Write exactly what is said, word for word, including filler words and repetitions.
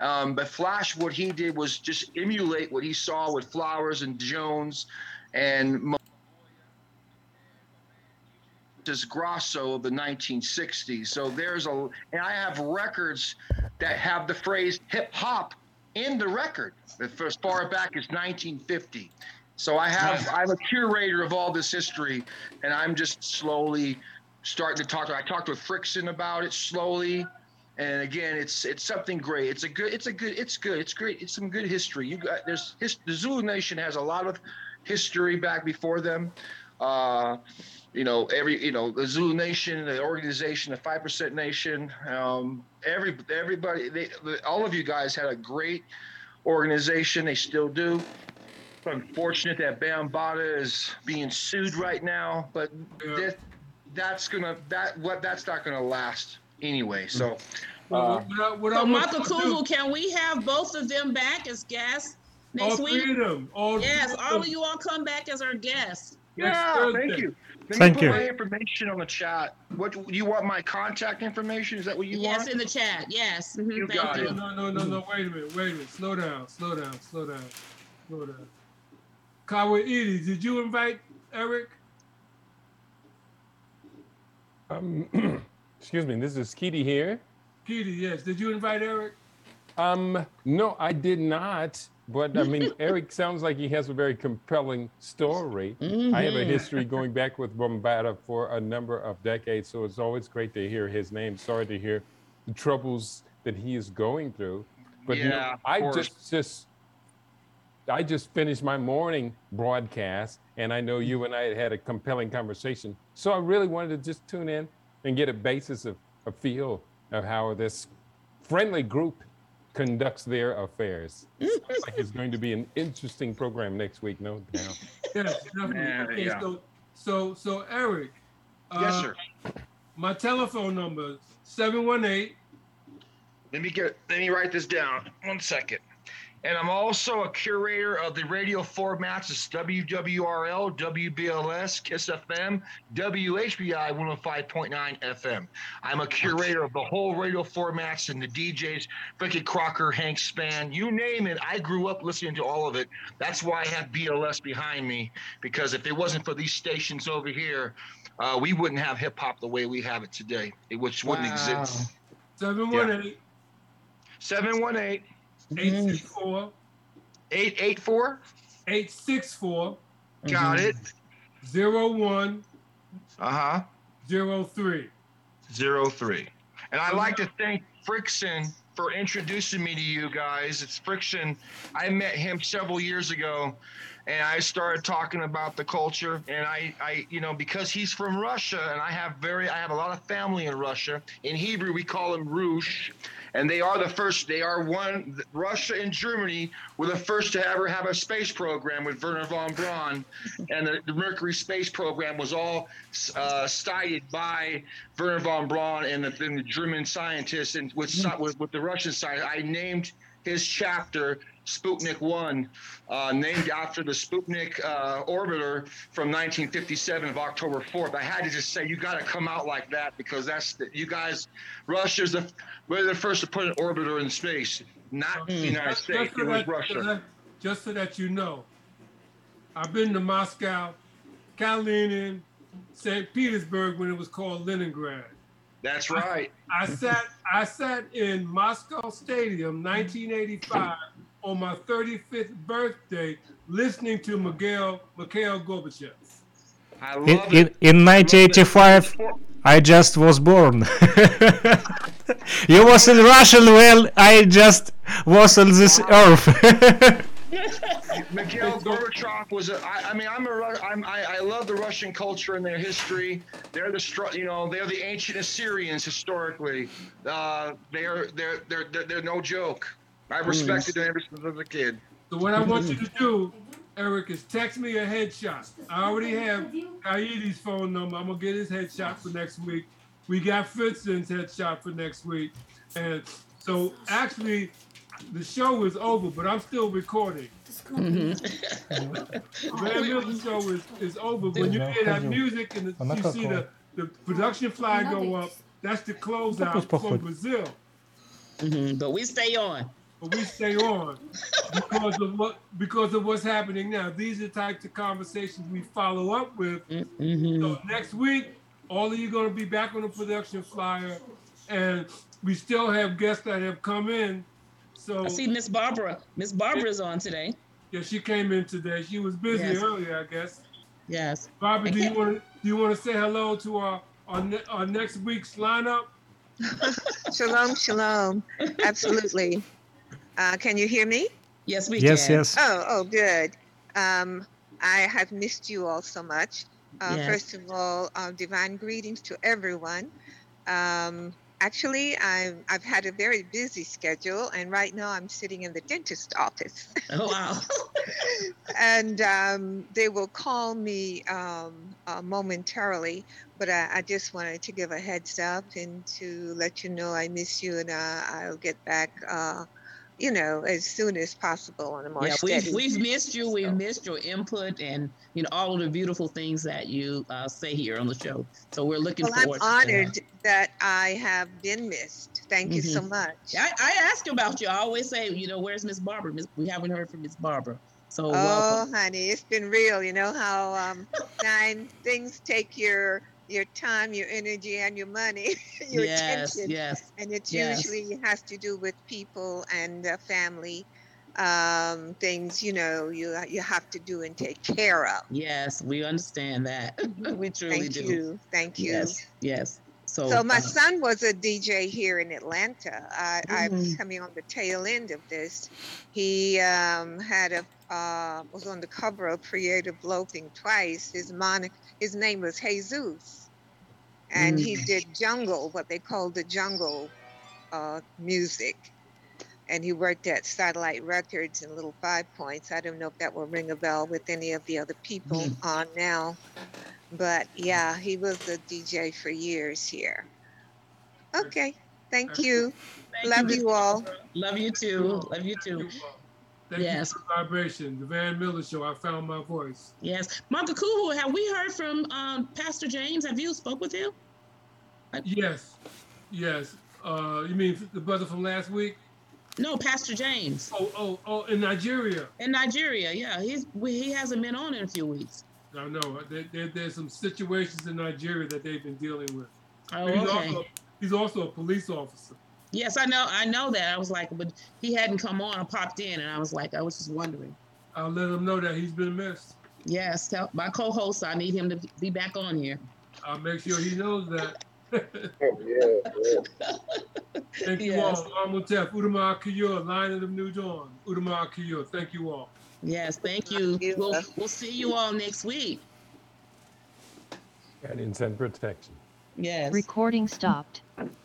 Um, but Flash, what he did was just emulate what he saw with Flowers and Jones and Montez Grosso of the nineteen sixties. So there's a, and I have records that have the phrase hip hop in the record as far back as nineteen fifty. So I have, I'm a curator of all this history, and I'm just slowly starting to talk. I talked with Frickson about it slowly, and again, it's it's something great. It's a good, it's a good, it's good, it's great. It's some good history. You got there's his, the Zulu Nation has a lot of history back before them. Uh, you know, every you know the Zulu Nation, the organization, the Five Percent Nation. Um, every everybody, they, all of you guys had a great organization. They still do. Unfortunate that Bambaataa is being sued right now, but yeah. that, that's gonna that what that's not gonna last anyway. So, uh, what I, what so Michael Kuzel, can we have both of them back as guests next all week? Three of them, all yes, three all of of you all come back as our guests. Yeah, thank you. Let Thank me put you. my information on the chat. What do you want? My contact information? Is that what you yes, want? Yes, in the chat. Yes. Mm-hmm. You thank got you. it. No, no, no, no. Wait a minute. Wait a minute. Slow down. Slow down. Slow down. Slow down. Kawaii, did you invite Eric? Um, excuse me, this is Keedy here. Keedy, yes. Did you invite Eric? Um, no, I did not. But I mean, Eric sounds like he has a very compelling story. Mm-hmm. I have a history going back with Bambaataa for a number of decades, so it's always great to hear his name. Sorry to hear the troubles that he is going through. But yeah, you know, I just just. I just finished my morning broadcast, and I know you and I had had a compelling conversation. So I really wanted to just tune in and get a basis of a feel of how this friendly group conducts their affairs. Sounds like it's going to be an interesting program next week, no doubt. Yes, definitely. Yeah, okay, yeah. so, so, so Eric. Yes, uh, sir. My telephone number is seven one eight. Let me get. Let me write this down. One second. And I'm also a curator of the radio formats. It's W W R L, W B L S, KISS F M, W H B I one oh five point nine F M. I'm a curator of the whole radio formats and the D Js, Frankie Crocker, Hank Spann, you name it. I grew up listening to all of it. That's why I have B L S behind me, because if it wasn't for these stations over here, uh, we wouldn't have hip hop the way we have it today, which wouldn't Wow. exist. seven one eight. seven one eight. eight six four. eight eight four. eight six four. Got it. zero one. Uh-huh. zero three. Zero three. And I'd like to thank Frickson for introducing me to you guys. It's Frickson. I met him several years ago, and I started talking about the culture. And I, I, you know, because he's from Russia, and I have very, I have a lot of family in Russia. In Hebrew, we call them Rush. And they are the first, they are one, Russia and Germany were the first to ever have a space program with Wernher von Braun. And the, the Mercury space program was all uh, started by Wernher von Braun and the, and the German scientists. And with, with, with the Russian side, I named his chapter Sputnik one, uh, named after the Sputnik uh, orbiter from nineteen fifty-seven of October fourth. I had to just say, you got to come out like that, because that's the, you guys, Russia's the, we're the first to put an orbiter in space, not the United Just- States. just so It was that- Russia. so that- Just so that you know, I've been to Moscow, Kalinin, Saint Petersburg when it was called Leningrad. That's right. I sat I sat in Moscow Stadium nineteen eighty-five on my thirty-fifth birthday listening to Mikhail Mikhail Gorbachev. I In, love in, it. in nineteen eighty-five, I just was born. You was in Russian, well, I just was on this earth. Mikhail Gorbachev was a, I, I mean, I'm a, Ru- I'm, I, I love the Russian culture and their history. They're the, str- you know, they're the ancient Assyrians historically. Uh, they're, they're, they're, they're, they're no joke. I respected them ever since I was a kid. So what I want you to do, Eric, is text me a headshot. I already have Kaede's phone number. I'm gonna get his headshot for next week. We got Fritzon's headshot for next week. And so actually the show is over, but I'm still recording. Mm-hmm. Van Milton show is, is over. When you hear that music and the, you see the, the production flag go up, that's the closeout from Brazil. Mm-hmm. But we stay on. but we stay on because of what because of what's happening now. These are the types of conversations we follow up with. Mm-hmm. So next week, all of you going to be back on the production flyer, and we still have guests that have come in. So I see Miss Barbara. Miss Barbara's on today. yeah, she came in today. She was busy Yes. earlier, I guess. Yes. Barbara, And do you can- want to do you want to say hello to our our, ne- our next week's lineup? Shalom, shalom. Absolutely. Uh, can you hear me? Yes, we Yes, can. yes. Oh, oh, good. Um, I have missed you all so much. Uh, Yes. First of all, uh, divine greetings to everyone. Um, actually, I've, I've had a very busy schedule, and right now I'm sitting in the dentist office. Oh wow. and um, they will call me um, uh, momentarily, but I, I just wanted to give a heads up and to let you know I miss you, and uh, I'll get back, uh, you know, as soon as possible on a more Yeah, we've steady. we've missed you. We've So- missed your input and you know all of the beautiful things that you uh, say here on the show. So we're looking Well, I'm forward. to honored that I have been missed. Thank you so Mhm. much. I, I ask about you. I always say, you know, where's Miss Barbara? Miss, we haven't heard from Miss Barbara. So Oh, welcome. honey, it's been real. You know how um, time things take your your time, your energy, and your money, your Yes, attention, yes, and it yes. usually has to do with people and uh, family um, things. You know, you you have to do and take care of. Yes, we understand that. we truly Thank do. you, thank you. Yes, yes. So, So my uh, son was a D J here in Atlanta. I, I'm Mhm. coming on the tail end of this. He um, had a uh, was on the cover of Creative Loafing twice. His mon his name was Jesus, and he Mm. did jungle, what they call the jungle uh, music. And he worked at Satellite Records in Little Five Points. I don't know if that will ring a bell with any of the other people Mhm. on now. But yeah, he was a D J for years here. Okay, thank you. Thank Love Miss you all. Barbara. Love you You too. all. Love you Thank too. you all. Thank Yes. you for the vibration. The Van Miller Show. I found my voice. Yes. Martha Kuhu, have we heard from um, Pastor James? Have you spoke with him? Yes, yes. Uh, you mean the brother from last week? No, Pastor James Oh, oh, oh, in Nigeria. in Nigeria. Yeah, he's we, he hasn't been on in a few weeks. I know there, there, there's some situations in Nigeria that they've been dealing with. Oh, he's okay. also he's also a police officer. Yes, I know. I know that. I was like, but he hadn't come on. I popped in, and I was like, I was just wondering. I'll let him know that he's been missed. Yes, tell my co-host. I need him to be back on here. I'll make sure he knows that. Yeah, yeah. Thank you Yes. all. Amotep, Udama Akiyur, Lion of the New Dawn. Udama Akiyur. Thank you all. Yes, thank you. Thank you. We'll we'll see you all next week. Guidance and protection. Yes. Recording stopped.